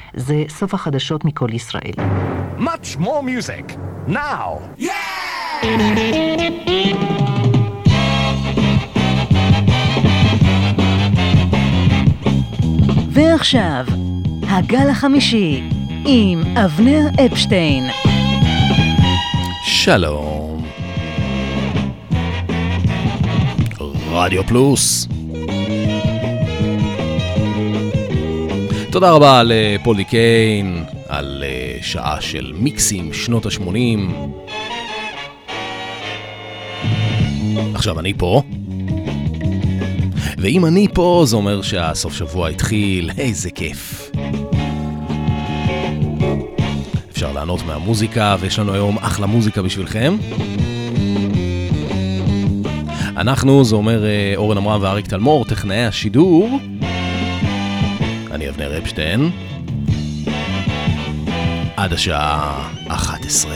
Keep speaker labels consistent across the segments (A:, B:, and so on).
A: זה סוף החדשות מכל ישראל.
B: Much more music, now!
A: ועכשיו, הגל החמישי עם אבנר אפשטיין.
C: שלום. רדיו פלוס. תודה רבה לפולי קיין על שעה של מיקסים שנות ה-80. עכשיו אני פה. ואם אני פה, זה אומר שהסוף שבוע התחיל. איזה כיף. אפשר לענות מהמוזיקה, ויש לנו היום אחלה מוזיקה בשבילכם. אנחנו, זה אומר אורן אמרם ואריק תלמור, טכנאי השידור. אני אבנר אפשטיין. עד השעה 11.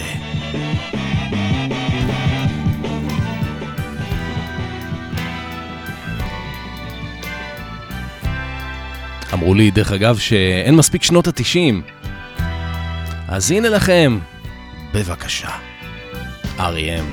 C: אמרו לי, דרך אגב, שאין מספיק שנות ה-90. אז הנה לכם, בבקשה, R.E.M.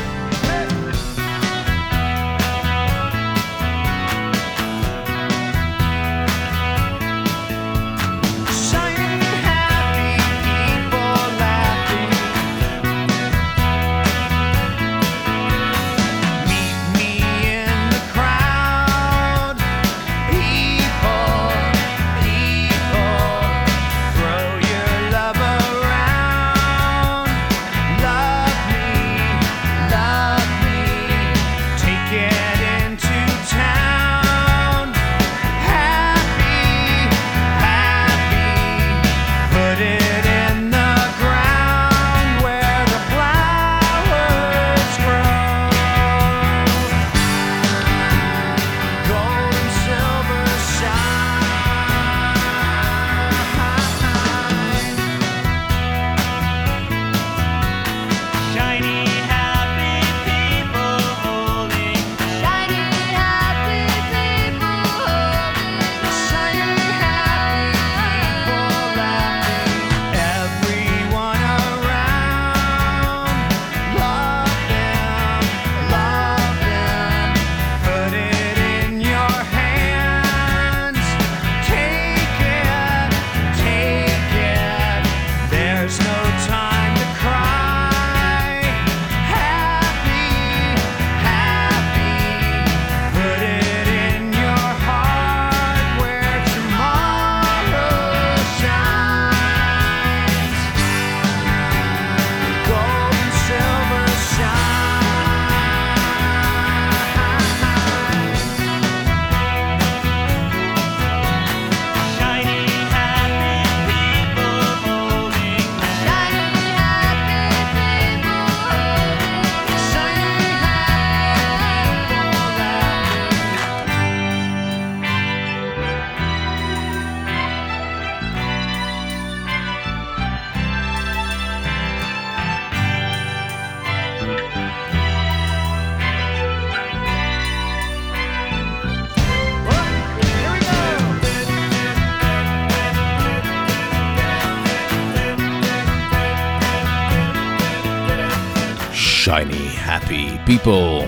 C: Shiny Happy People.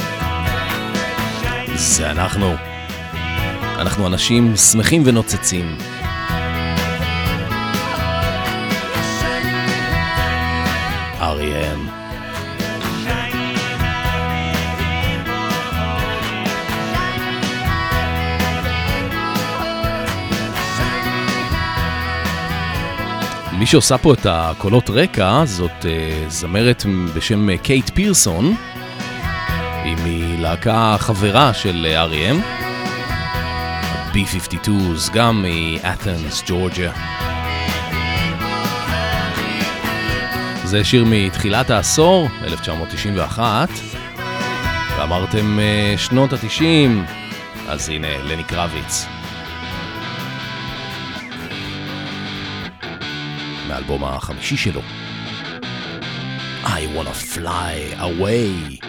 C: זה אנחנו. אנחנו אנשים שמחים ונוצצים. R.E.M. מי שעושה פה את הקולות רקע זאת זמרת בשם קייט פירסון. היא מלהקה חברה של R.E.M. B-52s, גם מאת'נס, ג'ורג'יה. זה שיר מתחילת העשור, 1991. ואמרתם שנות ה-90, אז הנה לני קרביץ. מהאלבום החמישי שלו. I wanna fly away.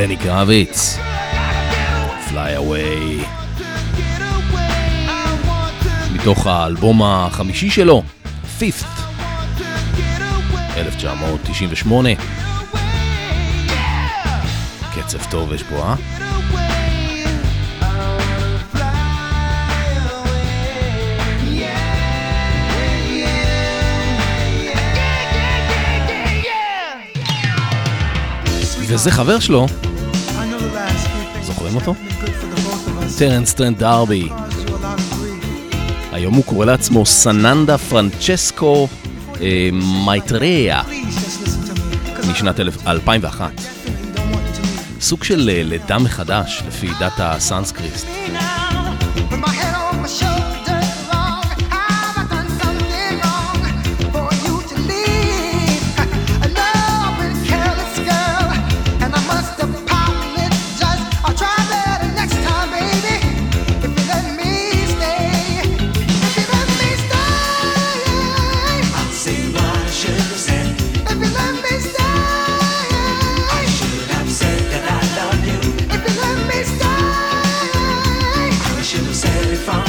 C: לני קרביץ, Fly Away, מתוך האלבום החמישי שלו, Fifth, 1998. קצב טוב יש פה, וזה חבר שלו, זוכרים אותו? טרנס טרנט דרבי. היום הוא קורא לעצמו סננדה פרנצ'סקו מייטריה, משנת 2001. סוג של לידה מחדש לפי דת הסנסקריט.
D: From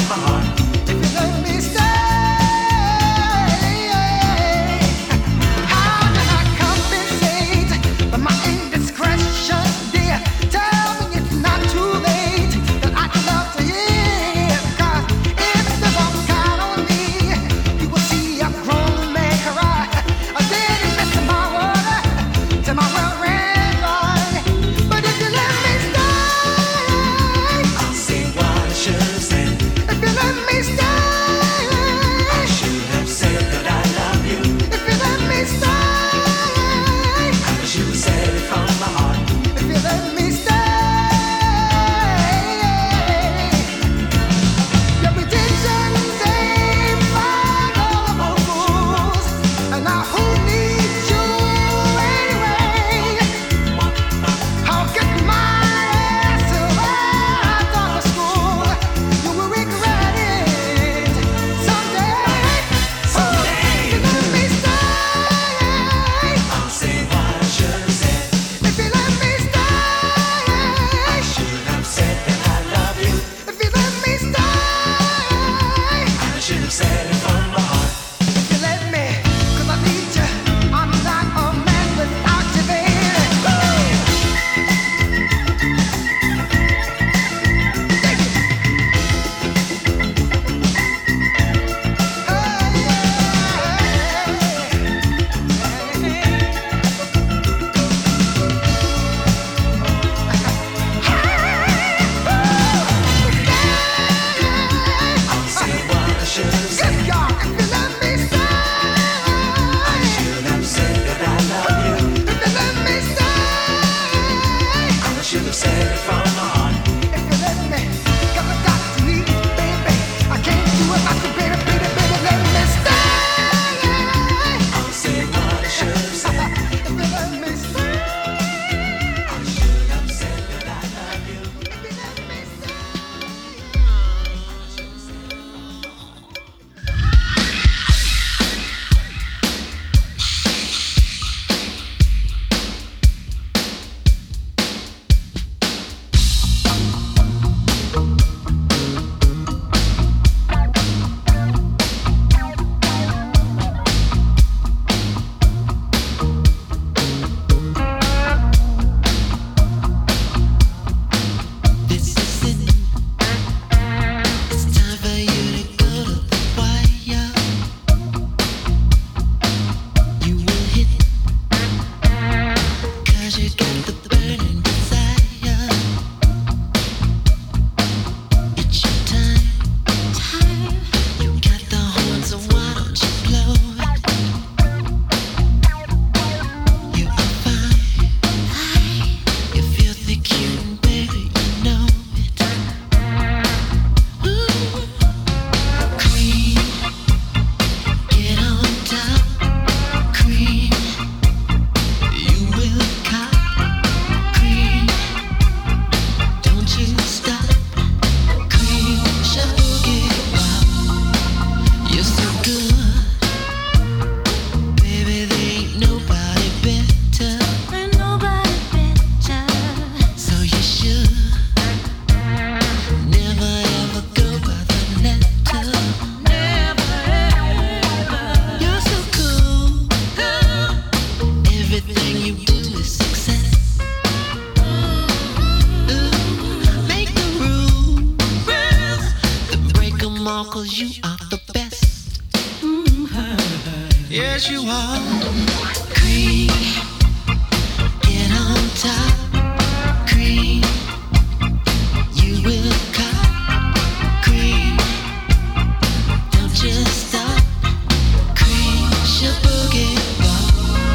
D: Yes, you are. Cream, get on top. Cream, you will cop. Cream, don't just stop. Cream, your boogie ball.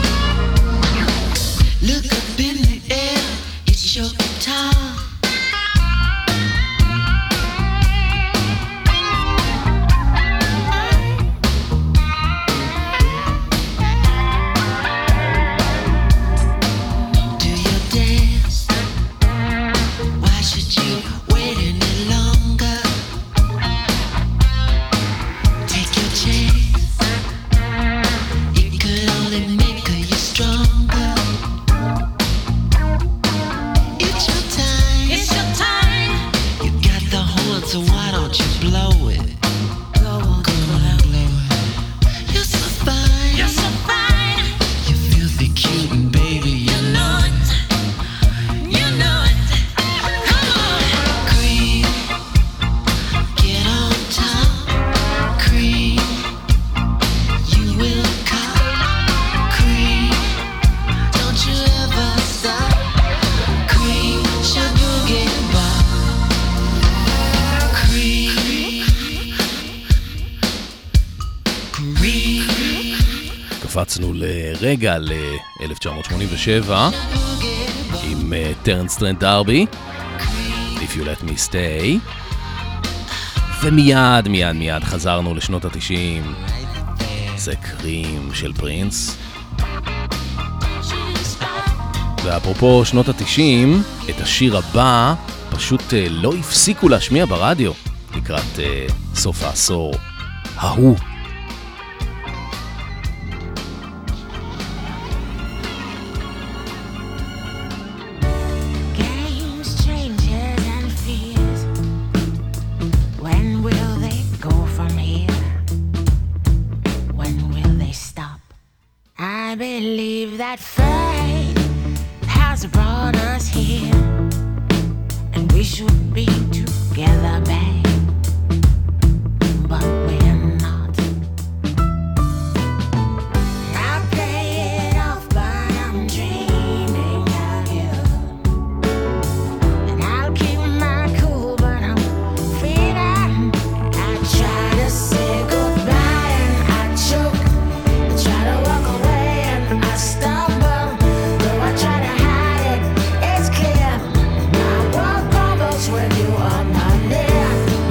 D: Look up in the air, it's your time.
C: קפצנו לרגע ל-1987 עם טרנס טרנט דרבי, If You Let Me Stay, ומיד מיד מיד חזרנו לשנות ה-90, זה קרים של פרינס. ואפרופו שנות ה-90, את השיר הבא פשוט לא הפסיקו להשמיע ברדיו לקראת סוף העשור ההוא.
E: That fate has brought us here, and we should be together, babe, but we're not. I'll play it off, but I'm dreaming of you, and I'll keep my cool, but I'm feeling. I try to say goodbye and I choke, I try to walk away and I stumble, though I try to hide it, it's clear. My world crumbles when you are not near.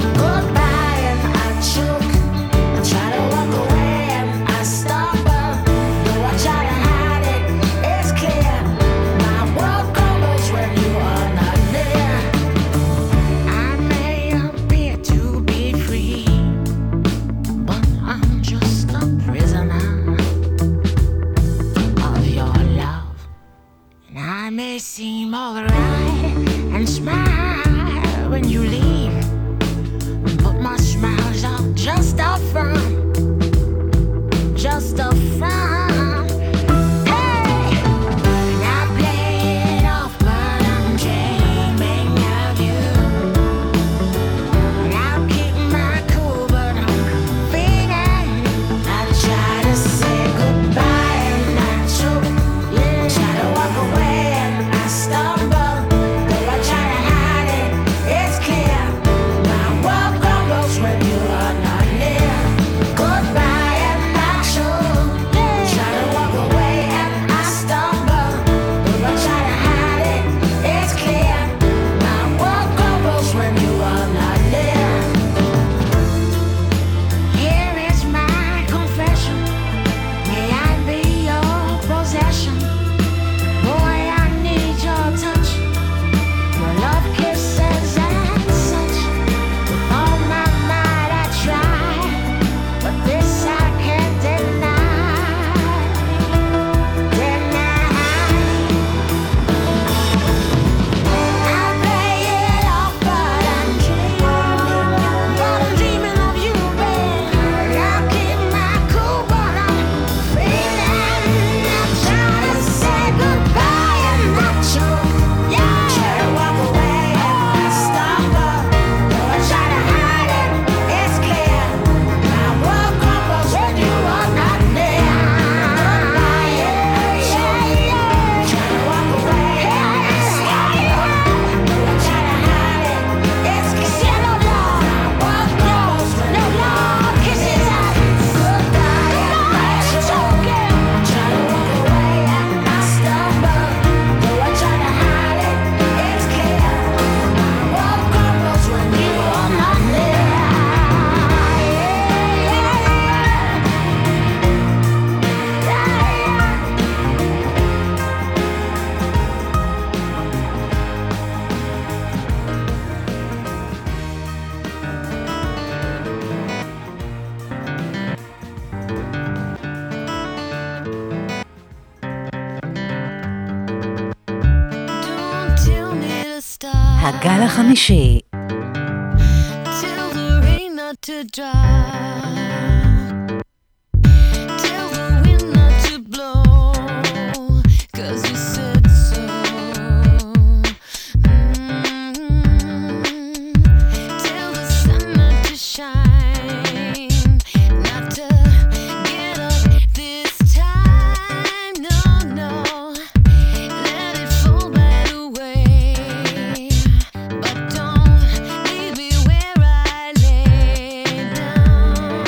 A: הגל החמישי.
E: Tell the rain not to dry. Tell the wind not to blow. 'Cause you said so. Tell the sun not to shine. Not to get up this time. No, no. Let it fall right away. But don't leave me where I lay down.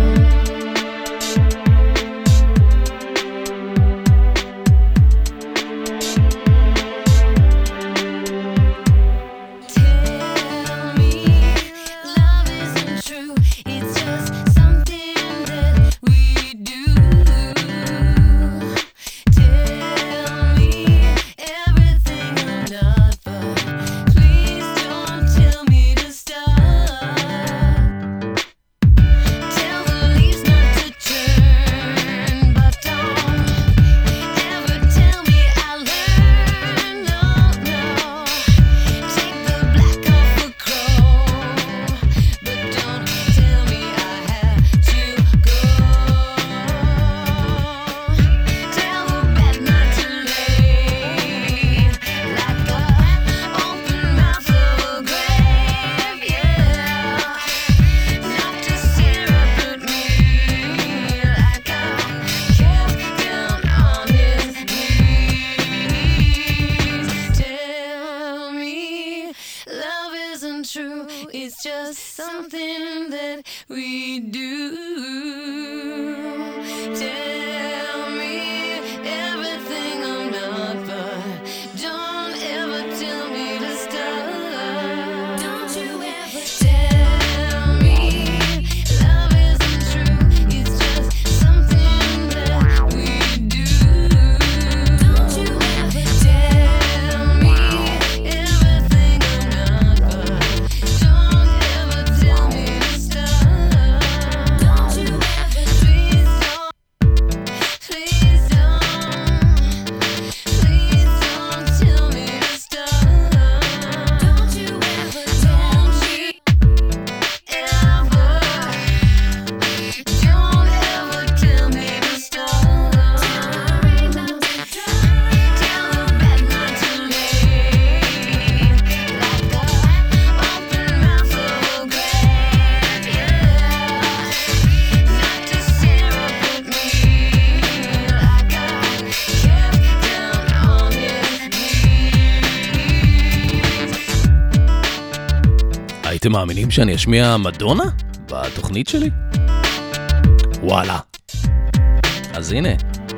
E: Tell me love isn't true. It's just something that we do. Tell me everything I'm not, but please don't tell me to stop. Tell the leaves not to turn, but don't ever tell me I learn. No, no. Take the black off a crow, but don't tell me I have to go. Tell the bed not to lay like the open mouth of a grave, yeah. Not to stare up at me like I kept down on his knees. Tell me love isn't true. It's just something that we do. Tell me everything I'm not, but don't ever tell me to stop. Don't you ever tell me love isn't true. It's just something that we do. Don't you ever tell me everything I'm not, but don't ever tell me to stop. Don't you ever, please don't, please don't, please don't tell me to stop. Don't you ever, don't you ever, don't ever tell me to stop. Tell the rain not to dry, tell the bed not to lay like the open mouth of a grave, yeah. Not to stare up at me like I kept down on his knees.
C: הייתם מאמינים שאני אשמיע מדונה בתוכנית שלי? וואלה. אז הנה.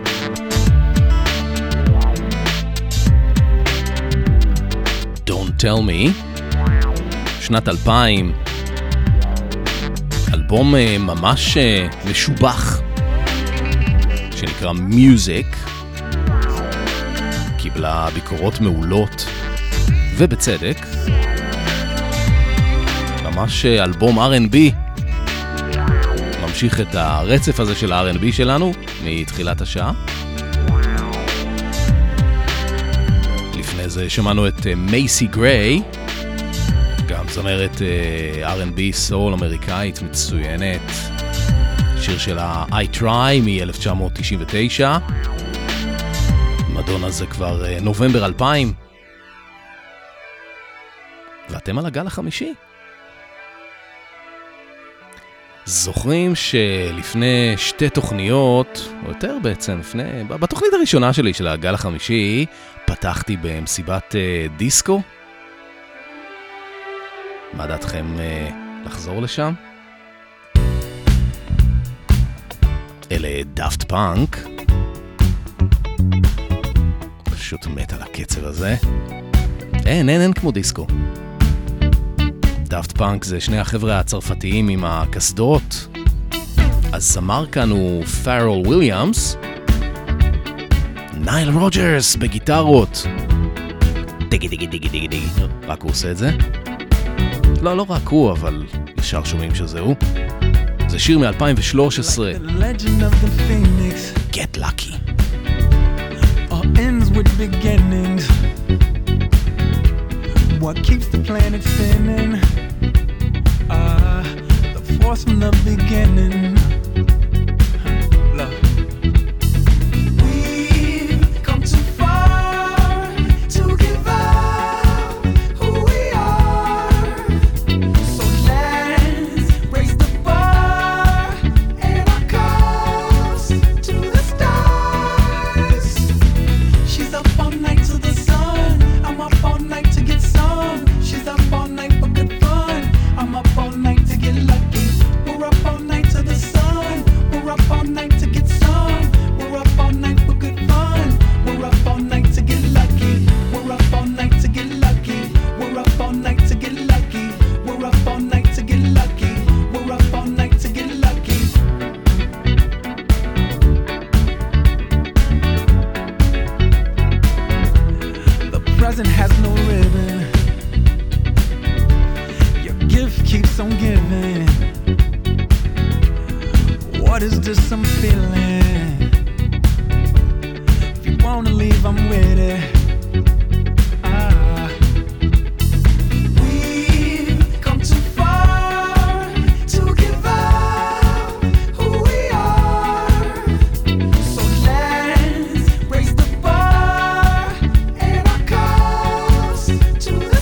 C: Don't Tell Me, שנת 2000, אלבום ממש משובח, שנקרא Music, קיבלה ביקורות מעולות, ובצדק, ממש אלבום R&B, ממשיך את הרצף הזה של ה-R&B שלנו מתחילת השעה. לפני זה שמענו את מייסי גריי, גם זמרת R&B סול אמריקאית מצוינת, שיר שלה I Try מ-1999. מדונה זה כבר נובמבר 2000, ואתם על הגל החמישי. זוכרים שלפני שתי תוכניות, או יותר בעצם, בתוכנית הראשונה שלי של הגל החמישי, פתחתי במסיבת דיסקו? מה דעתכם לחזור לשם? אלה דאפט פאנק. פשוט מת על הקצב הזה. אין כמו דיסקו. דאפט פאנק זה שני החבר'ה הצרפתיים עם הקסדות. הזמר כאן הוא פארל וויליאמס. נייל רוג'רס בגיטרות. דיגי דיגי דיגי דיגי דיגי. רק הוא עושה את זה? לא רק הוא, אבל ישר שומעים שזה הוא. זה שיר מ-2013. Get Lucky.
F: All ends with beginnings. what keeps the planet spinning. The force from the beginning. Love. We've come too far to give up who we are. So let's raise the bar and our cups to the stars. She's up all night to the sun. I'm up all night to get some. She's up all night for good fun. I'm up all night to get lucky. We're up all night to the sun. We're up all night to get some. We're up all night for good fun. We're up all night to get lucky. We're up all night to get lucky. We're up all night to get lucky. We're up all night to get lucky. We're up all night to get lucky. The present has no ribbon. Your gift keeps on giving. What is this I'm feeling? If you wanna leave, I'm with it. We've come too far to give up who we are. So let's raise the bar and our cups to the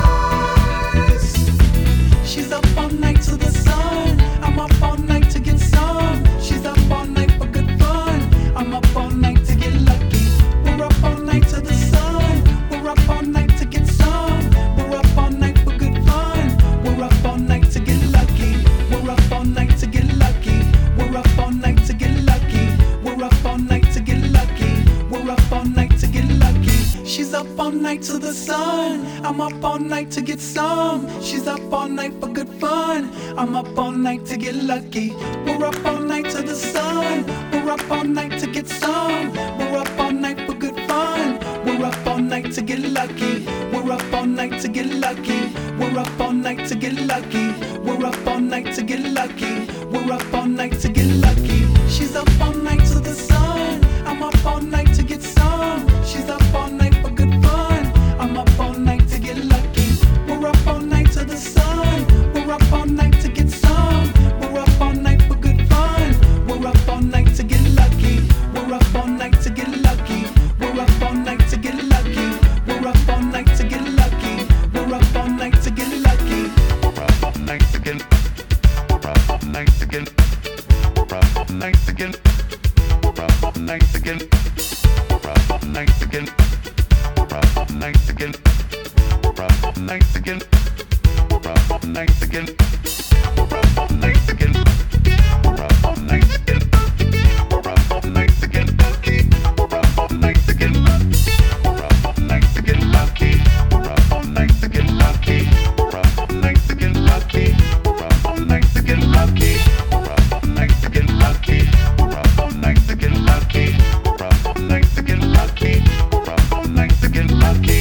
F: stars. She's up all night to the sun. I'm up all night to get some. She's up all night for good fun. I'm up all night to get lucky. We're up all night to the sun. We're up all night to get some. We're up all night for good fun. We're up all night to get lucky. We're up all night to get lucky. We're up all night to get lucky. We're up all night to get lucky. We're up all night to get lucky. She's up all night to the sun. I'm up all night to get some. She's up all night for good fun. I'm up all night to get lucky. We're up all night to the sun. We're up all night to get some. We're up all night for good fun. We're up all night to get lucky. We're up all night to get lucky. We're up all night to get lucky. We're up all night to get lucky. We're up all night to get lucky. She's up all night to the sun. I'm up all night to get some. She's up all night for good fun. I'm up all night to get lucky. We're up all night to the sun. We're up all night to get some. We're up all night for good fun. We're up all night to get lucky. We're up all night to get lucky. We're up all night to get lucky. We're up all night to get lucky. We're up all night to get lucky. We're up all night to get. We're up all night to get. We're up all night to get. We're up all night to get. We're up all night to get. We're up all night to get. We're up all night to get. We're up all night to get. We're up all night to get. We're up all night to get. We're up all night to get lucky. We're up all night to get lucky. We're up all night to get lucky. We're up all night to get lucky. We're up all night to get lucky. We're up all night to get lucky. We're up all night to get lucky. We're up all night to get lucky. We're up all night to get lucky. We're up all night to get lucky.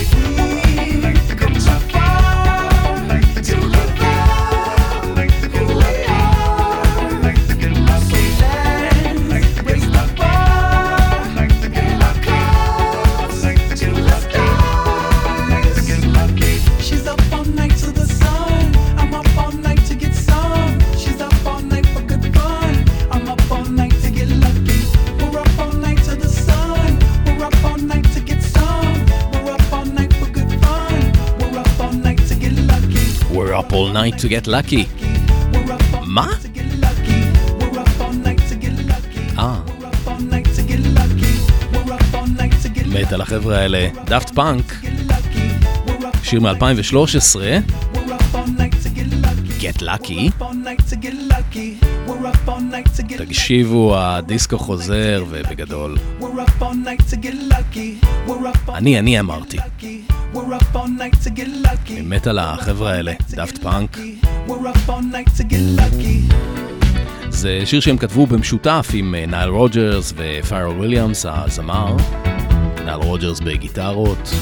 F: We've come too far to give up who we are. So let's raise the bar and our cups to the stars. She's up all night to the sun. I'm up all night to get some. She's up all night for good fun. I'm up all night to get lucky. We're up all night to the sun. We're up all night to get some. We're up all night for good fun. We're up all night to get lucky.
C: We're up all night to get lucky.
F: We're up all
C: מה?
F: night to get lucky. We're up all night to get lucky. We're up all night to get lucky. We're up all night to get
C: מת על החבר'ה האלה, דאפט פאנק,
F: lucky. We're up
C: שיר מ-2013,
F: we're up all night to get lucky.
C: Get Lucky.
F: All night to get lucky. We're up all night to get lucky.
C: תקשיבו, הדיסקו חוזר ובגדול.
F: We're up all night to get lucky. We're up all
C: אני אמרתי.
F: lucky. We're up all night to get lucky.
C: אני מת על החבר'ה האלה, דאפט פאנק.
F: We're up all night to get lucky.
C: זה שיר שהם כתבו במשותף עם נייל רוג'רס ופיירל וויליאמס, הזמר. נייל רוג'רס בגיטרות.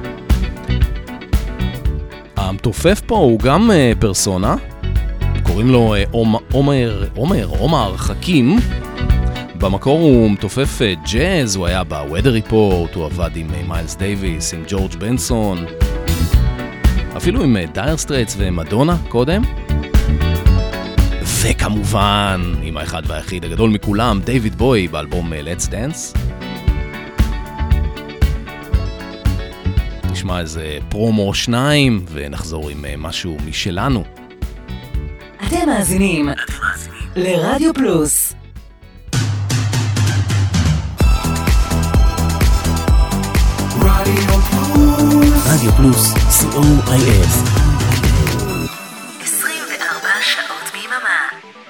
C: המתופף פה הוא גם פרסונה, קוראים לו עומר חכים. במקור הוא מתופף ג'אז, הוא היה בוודר ריפורט, הוא עבד עם מיילס דייביס, עם ג'ורג' בנסון. אפילו עם דייר סטרייטס ומדונה קודם. וכמובן, עם האחד והיחיד הגדול מכולם, דיוויד בוי באלבום Let's Dance. נשמע איזה פרומו 2 ונחזור עם משהו משלנו.
A: אתם מאזינים לרדיו פלוס.
G: רדיו פלוס, COIF.
A: 24 שעות ביממה.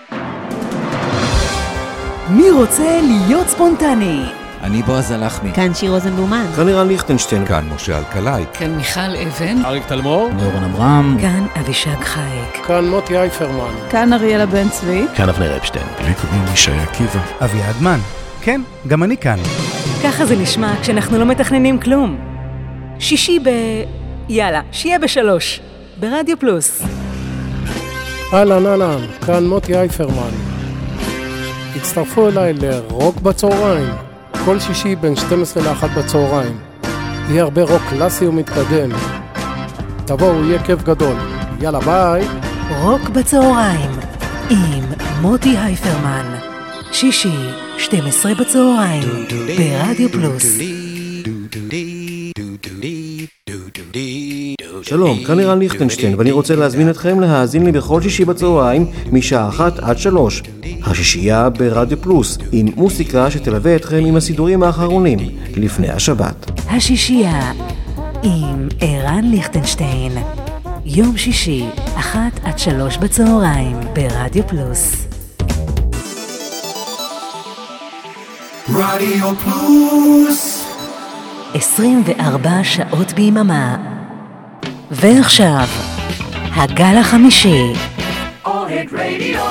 A: מי רוצה להיות ספונטני?
H: אני בועז הלחמי.
I: כאן שיר רוזנבלומן.
J: כאן לירן ליכטנשטיין.
K: כאן משה אלקלעי.
L: כאן מיכל אבן.
C: אריק תלמור.
G: נורן אברהם.
A: כאן אבישג חייק.
M: כאן מוטי אייפרמן.
I: כאן אריאלה בן צבי.
C: כאן אבנר אפשטיין.
K: לי קוראים ישי עקיבא.
N: אביעד מן. כן, גם אני כאן.
A: ככה זה נשמע כשאנחנו לא מתכננים כלום. שישי יאללה, שיהיה ב3. ברדיו פלוס.
M: אהלן, כאן מוטי אייפרמן. הצטרפו אליי לרוק בצהריים. כל שישי בין 12 ל-1 בצהריים. יהיה הרבה רוק קלאסי ומתקדם. תבואו, יהיה כיף גדול. יאללה, ביי.
A: רוק בצהריים עם מוטי הייפרמן. שישי, 12 בצהריים, ברדיו פלוס.
J: שלום, כאן לירן ליכטנשטיין, ואני רוצה להזמין אתכם להאזין לי בכל שישי בצהריים משעה 1 עד 3. השישייה ברדיו פלוס, עם מוסיקה שתלווה אתכם עם הסידורים האחרונים לפני השבת.
A: השישייה עם ערן ליכטנשטיין. יום שישי, 1 עד 3 בצהריים, ברדיו פלוס.
F: רדיו פלוס
A: 24 שעות ביממה. ועכשיו, הגל החמישי.
F: אוהד רדיו.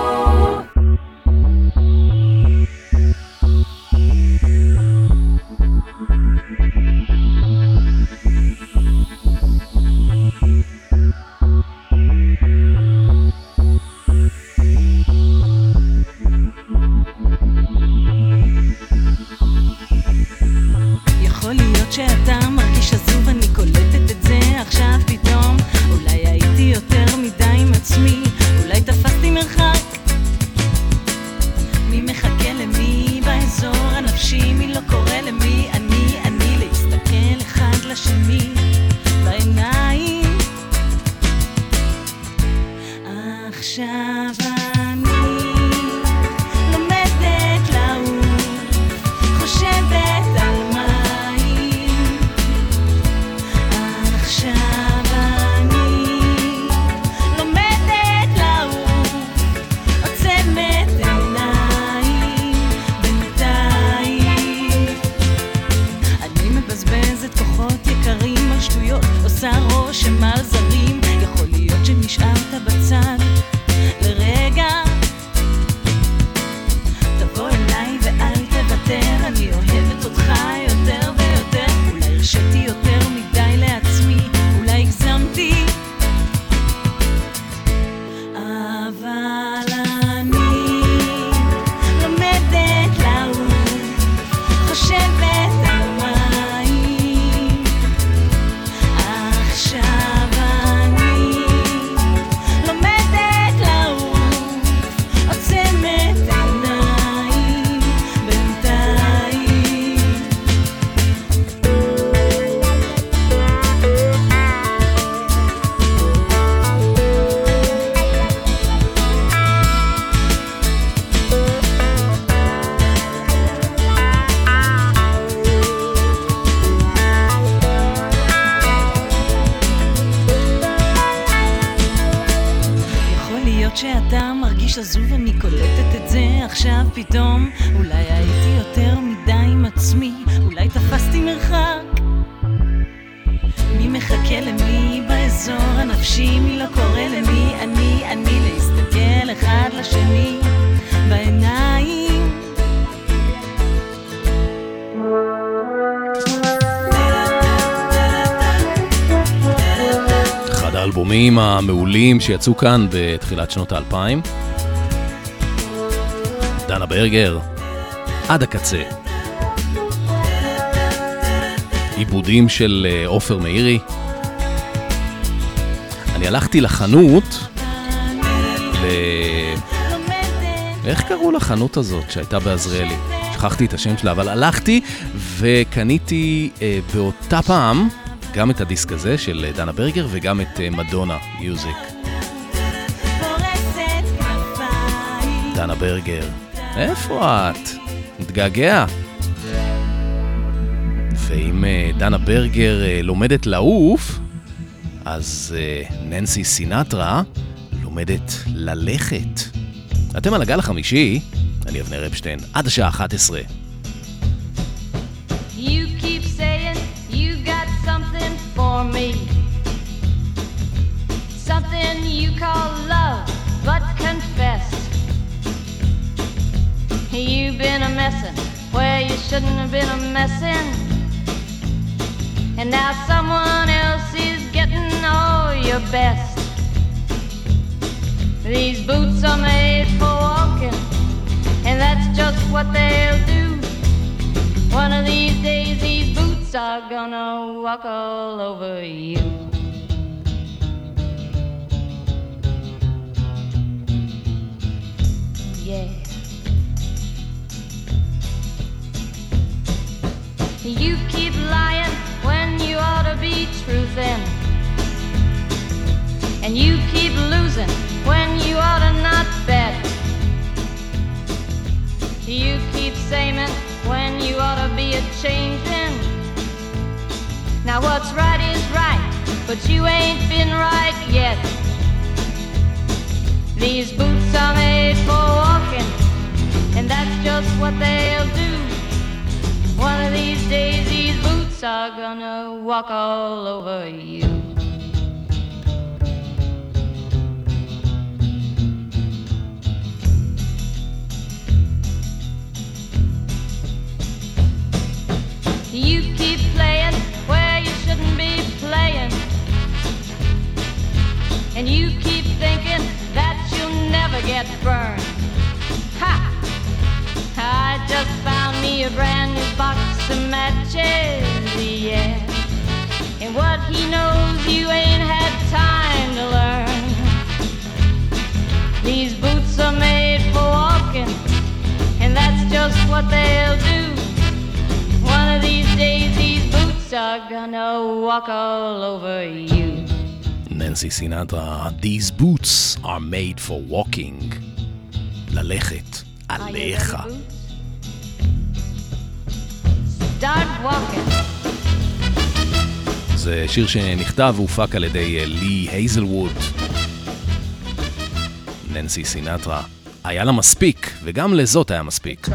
D: יכול להיות שאתה מרגיש עזוב, אני קולטת את זה עכשיו פתאום. אולי הייתי יותר מדי עם עצמי, אולי תפסתי מרחק. מי מחכה למי באזור הנפשי, מי לא קורא למי, אני להסתכל אחד לשני בעיניים. עכשיו אני לומדת לעוף, חושבת על מים. עכשיו אני לומדת לעוף, עוצמת עיניים בינתיים. אני מבזבזת כוחות יקרים על שטויות, עושה רושם על זרים. יכול להיות שנשארת בצד לרגע, תבוא אליי ואל תוותר, אני אוהבת אותך יותר ויותר. אולי הרשיתי יותר מדי לעצמי, אולי הגזמתי, אבל אני לומדת לעוף, חושבת על מים. עכשיו אני לומדת לעוף, עוצמת עיניים בינתיים. יכול להיות שאתה מרגיש עזוב, אני קולטת את זה עכשיו פתאום. אולי הייתי יותר מדי עם עצמי, אולי תפסתי מרחק. מי מחכה למי באזור הנפשי, מי לא קורא למי, אני להסתכל אחד לשני בעיניים.
C: אחד האלבומים המעולים שיצאו כאן בתחילת שנות ה-2000. דנה ברגר, עד הקצה. עיבודים של עופר מאירי. אני הלכתי לחנות, איך קראו לחנות הזאת שהייתה בעזריאלי? שכחתי את השם שלה, אבל הלכתי וקניתי באותה פעם גם את הדיסק הזה של דנה ברגר וגם את מדונה מיוזיק. דנה ברגר, איפה את? מתגעגע. ואם דנה ברגר לומדת לעוף, אז ננסי סינטרה לומדת ללכת. אתם על הגל החמישי, אני אבנר אפשטיין, עד השעה 11.
H: You keep saying you got something for me, something you call love, but confess you've been a messin' where you shouldn't have been a messin', and now someone else is getting all your best. These boots are made for walking, and that's just what they'll do. One of these days these boots are gonna walk all over you. Yeah. You keep lying when you ought to be truthin', and you keep losing when you ought to not bet. You keep saying when you ought to be a-changin'. Now what's right is right, but you ain't been right yet. These boots are made for walking, and that's just what they'll do. One of these days these boots are gonna walk all over you. You keep playing where you shouldn't be playing, and you keep thinking that you'll never get burned. Ha! I just found me a brand new box of matches, yeah, and what he knows you ain't had time to learn. These boots are made for walking, and that's just what they'll do. One of these days these boots are gonna walk all over you.
C: ננסי סינטרה, These boots are made for walking. ללכת עליך.
H: Start walking.
C: זה שיר שנכתב והופק על ידי לי הייזלווד. ננסי סינטרה. היה לה מספיק, וגם לזאת היה מספיק.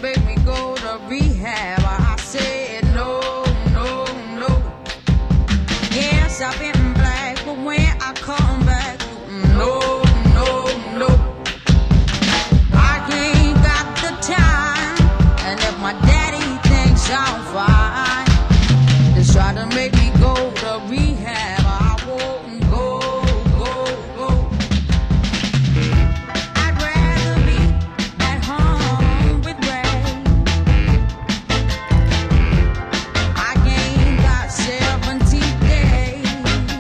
E: I've been black, but when I come back, no, no, no, I ain't got the time. And if my daddy thinks I'm fine, just try to make me go to rehab. I won't go, go, go. I'd rather be at home with Ray. I ain't got 70 days.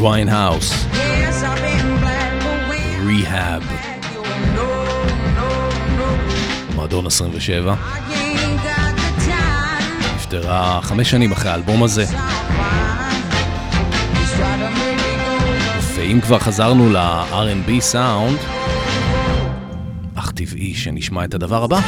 C: ויינהאוס, ריהאב, מועדון 27, נפטרה 5 שנים אחרי האלבום הזה. ואם כבר חזרנו ל-R&B סאונד, אך טבעי שנשמע את הדבר הבא.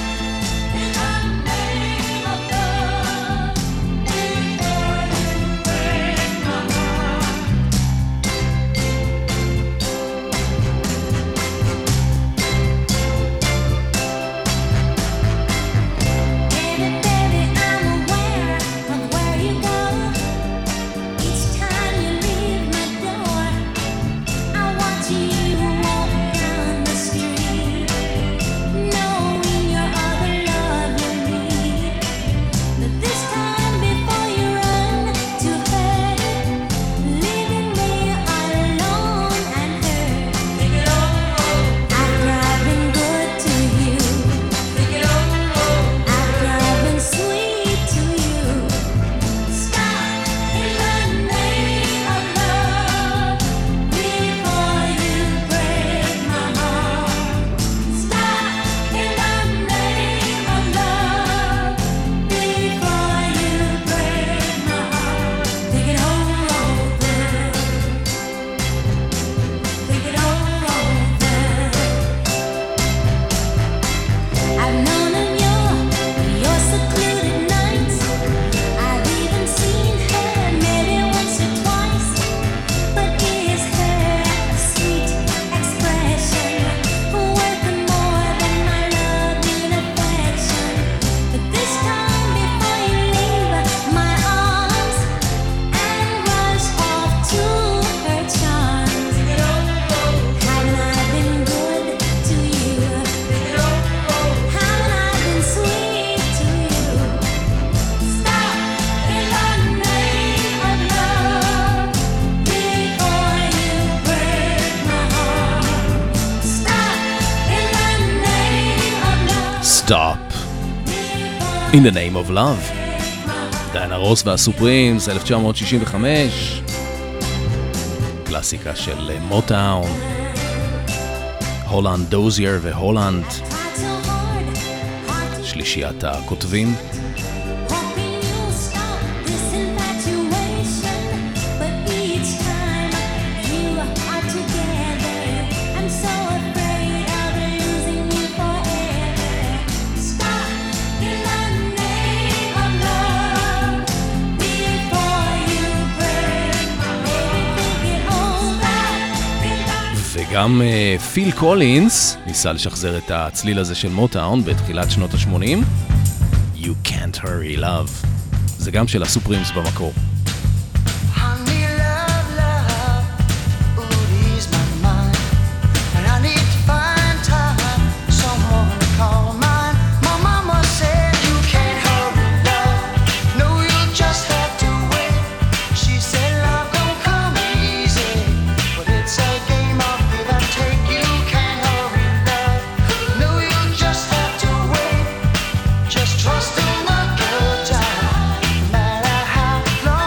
C: Stop In the Name of Love, דיינה רוס והסופרימס, 1965, קלאסיקה של מוטאון, הולנד דוזייר והולנד, שלישיית הכותבים. גם פיל קולינס ניסה לשחזר את הצליל הזה של מוטאון בתחילת שנות ה-80. You Can't Hurry Love, זה גם של הסופרימס במקור.
F: Trust in the good time, no matter how long.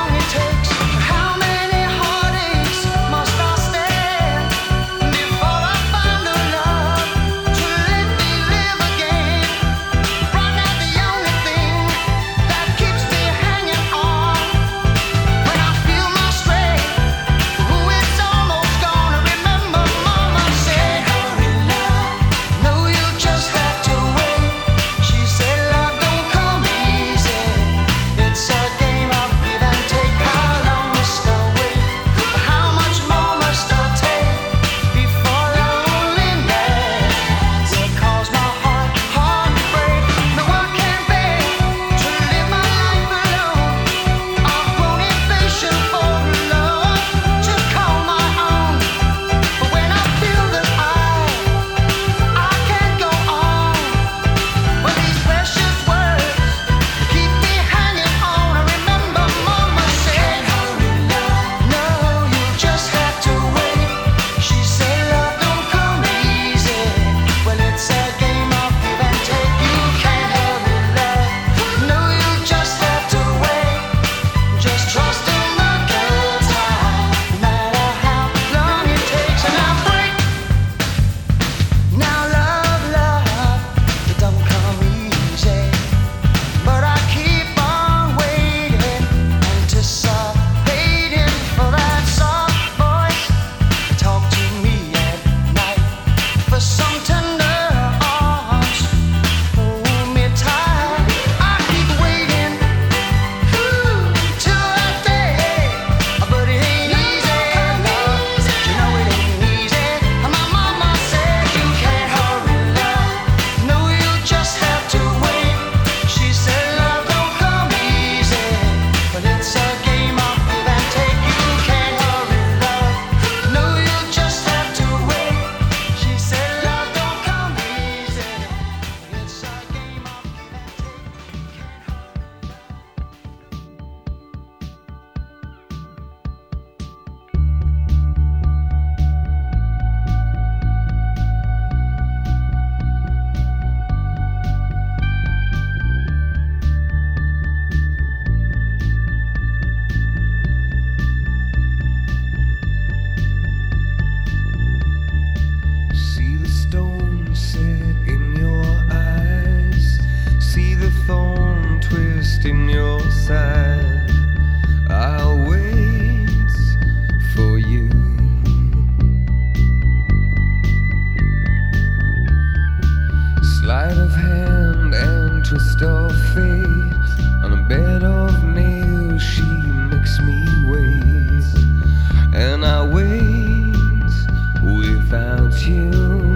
L: Sleight of hand and twist of fate. On a bed of nails she makes me wait. And I wait without you.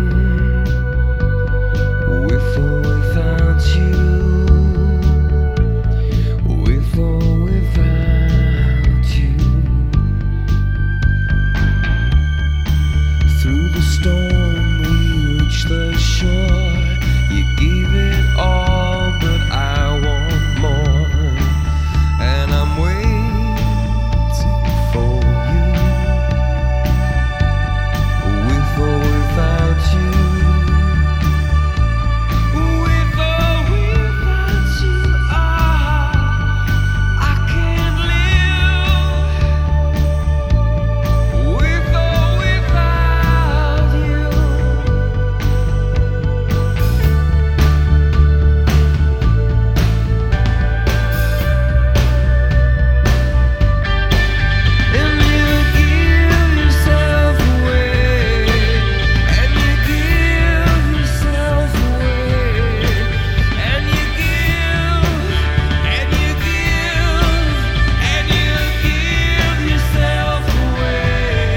L: With or without you. With or without you. Through the storm we reach the shore. You gave it all, but I want more. And I'm waiting for you. With or without you. With or without you. I can't live. With or without you. And you give yourself away. And you give yourself away. And you give. And you give. And you give yourself away.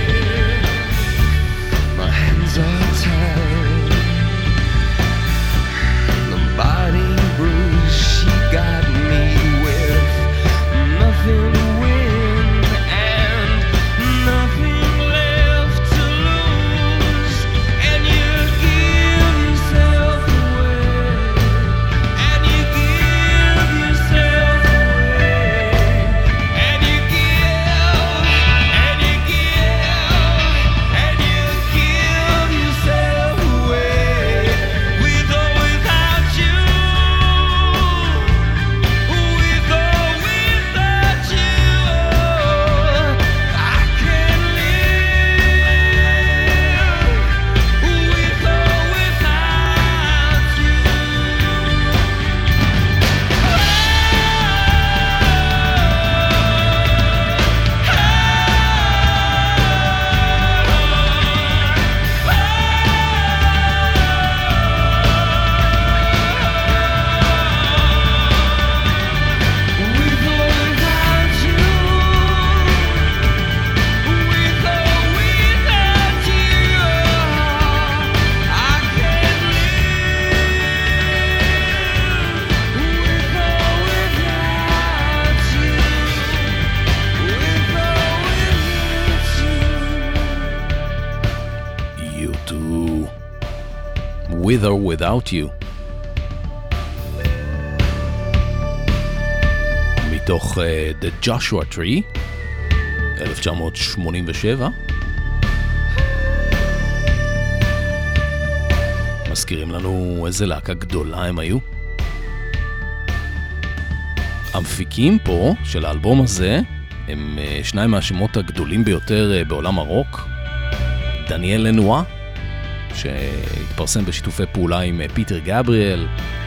L: My hands are tied. The body bruise she got me with. Nothing to win and nothing left to lose. And you give yourself away. And you give yourself away. And you give. And you give. And you give yourself away. With or without you. With or without you. I can't live. With or without you. With or without you. With or without you. I can't live. With or without you. With or without you.
C: You too. With or without you. מתוך The Joshua Tree, 1987. מזכירים לנו איזה להקה גדולה הם היו. המפיקים פה של האלבום הזה הם שניים מהשמות הגדולים ביותר בעולם הרוק. דניאל לנואה, שהתפרסם בשיתופי פעולה עם פיטר גבריאל,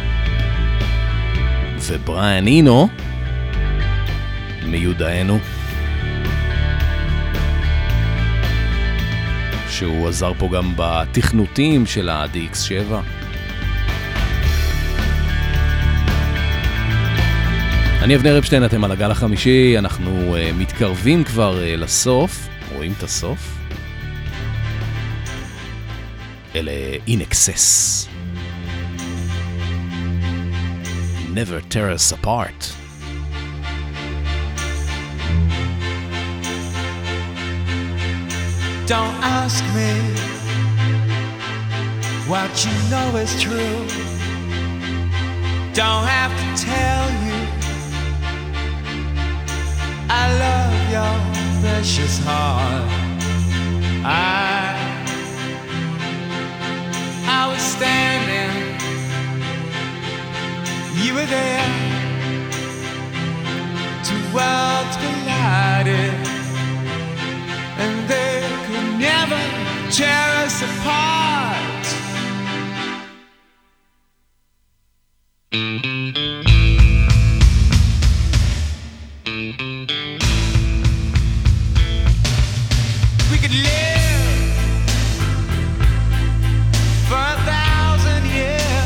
C: ובריאן אינו מיודענו, שהוא עזר פה גם בתכנותים של ה-DX7. אני אבנר אפשטיין, אתם על הגל החמישי, אנחנו מתקרבים כבר לסוף, רואים את הסוף. אלה In Excess. Never tear us apart.
F: Don't ask me what you know is true. Don't have to tell you I love your precious heart. I was standing, you were there. Two worlds collided, and they could never tear us apart. We could live for 1,000 years.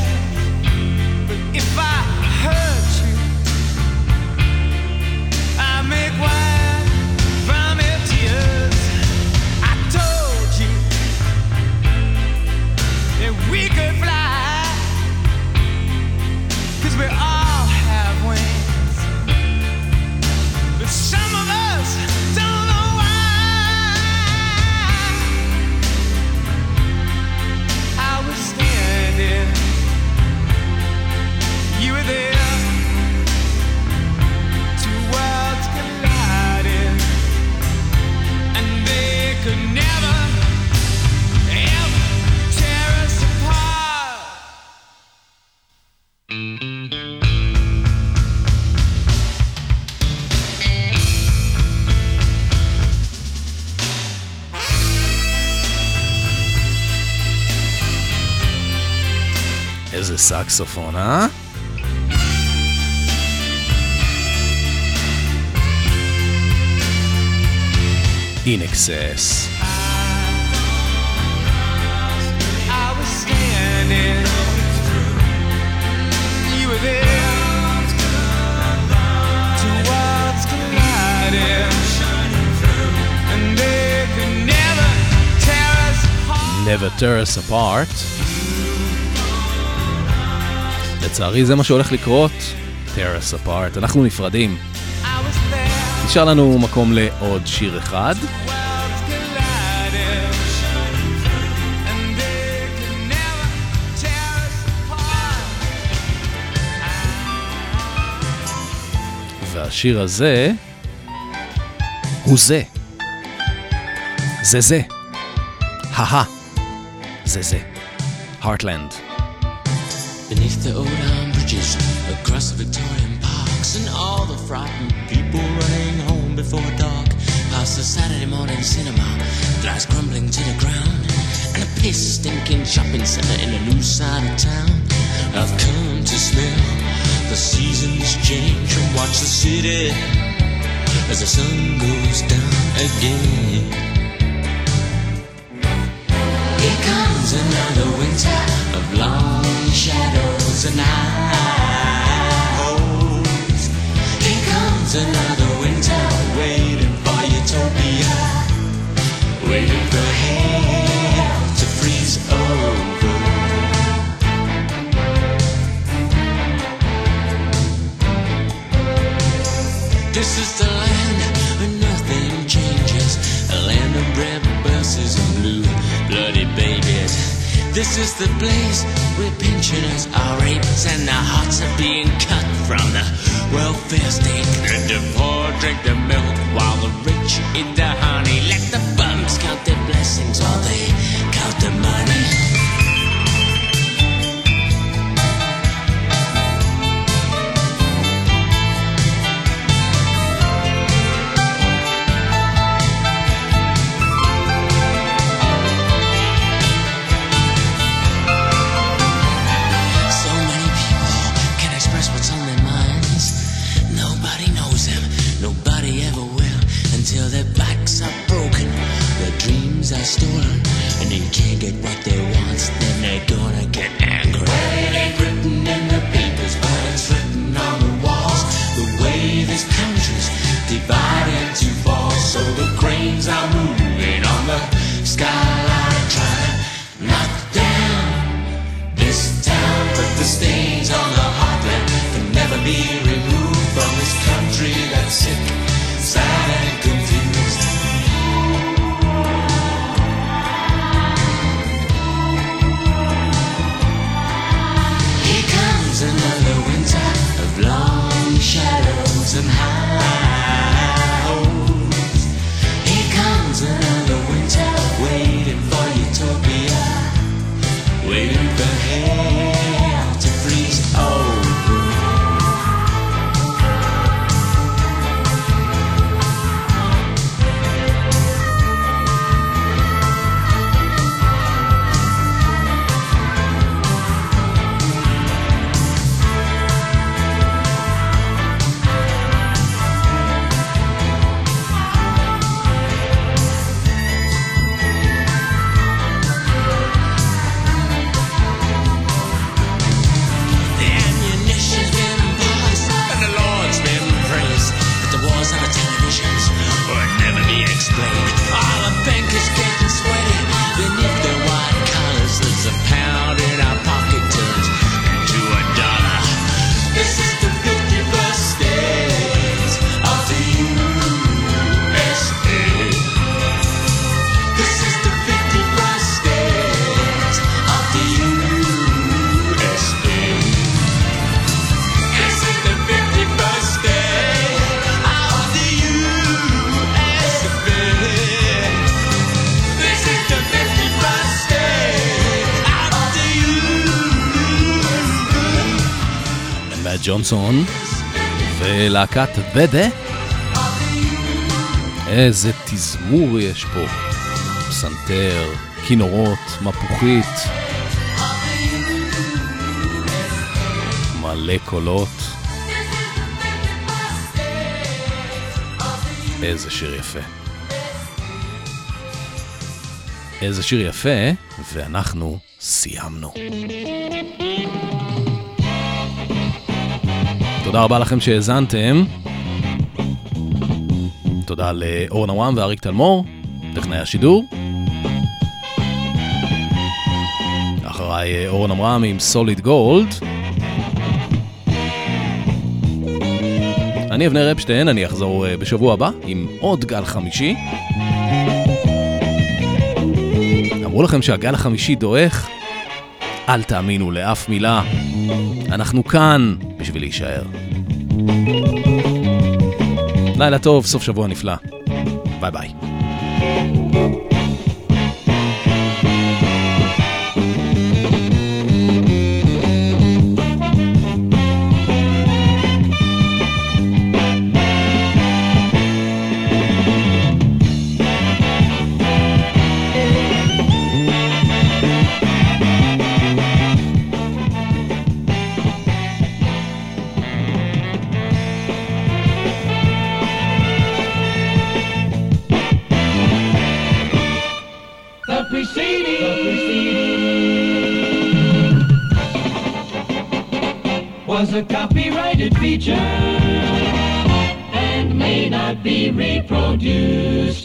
C: איזה סקסופון, אה? In Excess.
F: I was standing, you were there, two worlds colliding, and they could never tear us apart.
C: Never tear us apart. לצערי זה מה שהולך לקרות. tear us apart. אנחנו נפרדים. נשאר לנו מקום לעוד שיר אחד. והשיר הזה הוא זה. זה. זה. Heartland.
O: Beneath the old iron bridges, across the Victorian parks, and all the frightened people running home before dark, past the Saturday morning cinema, glass crumbling to the ground, and a piss-stinking shopping center in a new side of town. I've come to smell the seasons change and watch the city as the sun goes down again. Here comes another winter of long shadows and highs. Here comes another winter waiting for utopia, waiting for hell to freeze over. This is the land where nothing changes, a land of red buses and blue bloody babies. This is the place where pensioners are raped and their hearts are being cut from the welfare state. And the poor drink the milk while the rich eat the honey. Let the bums count their blessings while they count the money. Till their backs are broken, their dreams are stolen, and they can't get what they want, then they're gonna get angry. Well, it ain't written in the papers, but it's written on the walls. The way this country's divided into falls, so the cranes are moving on the skyline, trying to knock down this town. But the stains on the heartland can never be removed from this country that's sick, sad and confused. Here comes another winter of long shadows and highs. Here comes another winter waiting for utopia, waiting for hell to freeze over.
C: ג'ונסון ולהקת בדה. איזה תזמור יש פה, פסנתר, כינורות, מפוחית. מלא קולות. איזה שיר יפה. איזה שיר יפה, ואנחנו סיימנו. תודה רבה לכם שהאזנתם. תודה לאורן אברהם ואריק תלמור, טכנאי השידור. אחריי אורן אברהם עם סוליד גולד. אני אבנר אפשטיין, אני אחזור בשבוע הבא עם עוד גל חמישי. אמרו לכם שהגל החמישי דועך? אל תאמינו לאף מילה. אנחנו כאן בשביל להישאר. לילה טוב, סוף שבוע נפלא. ביי ביי.
F: Was a copyrighted feature and may not be reproduced.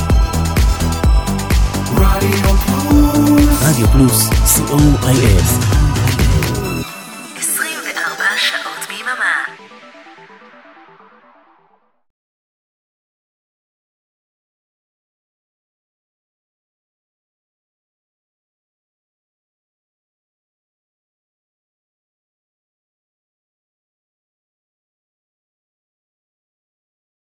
G: רדיו פלוס, COIS.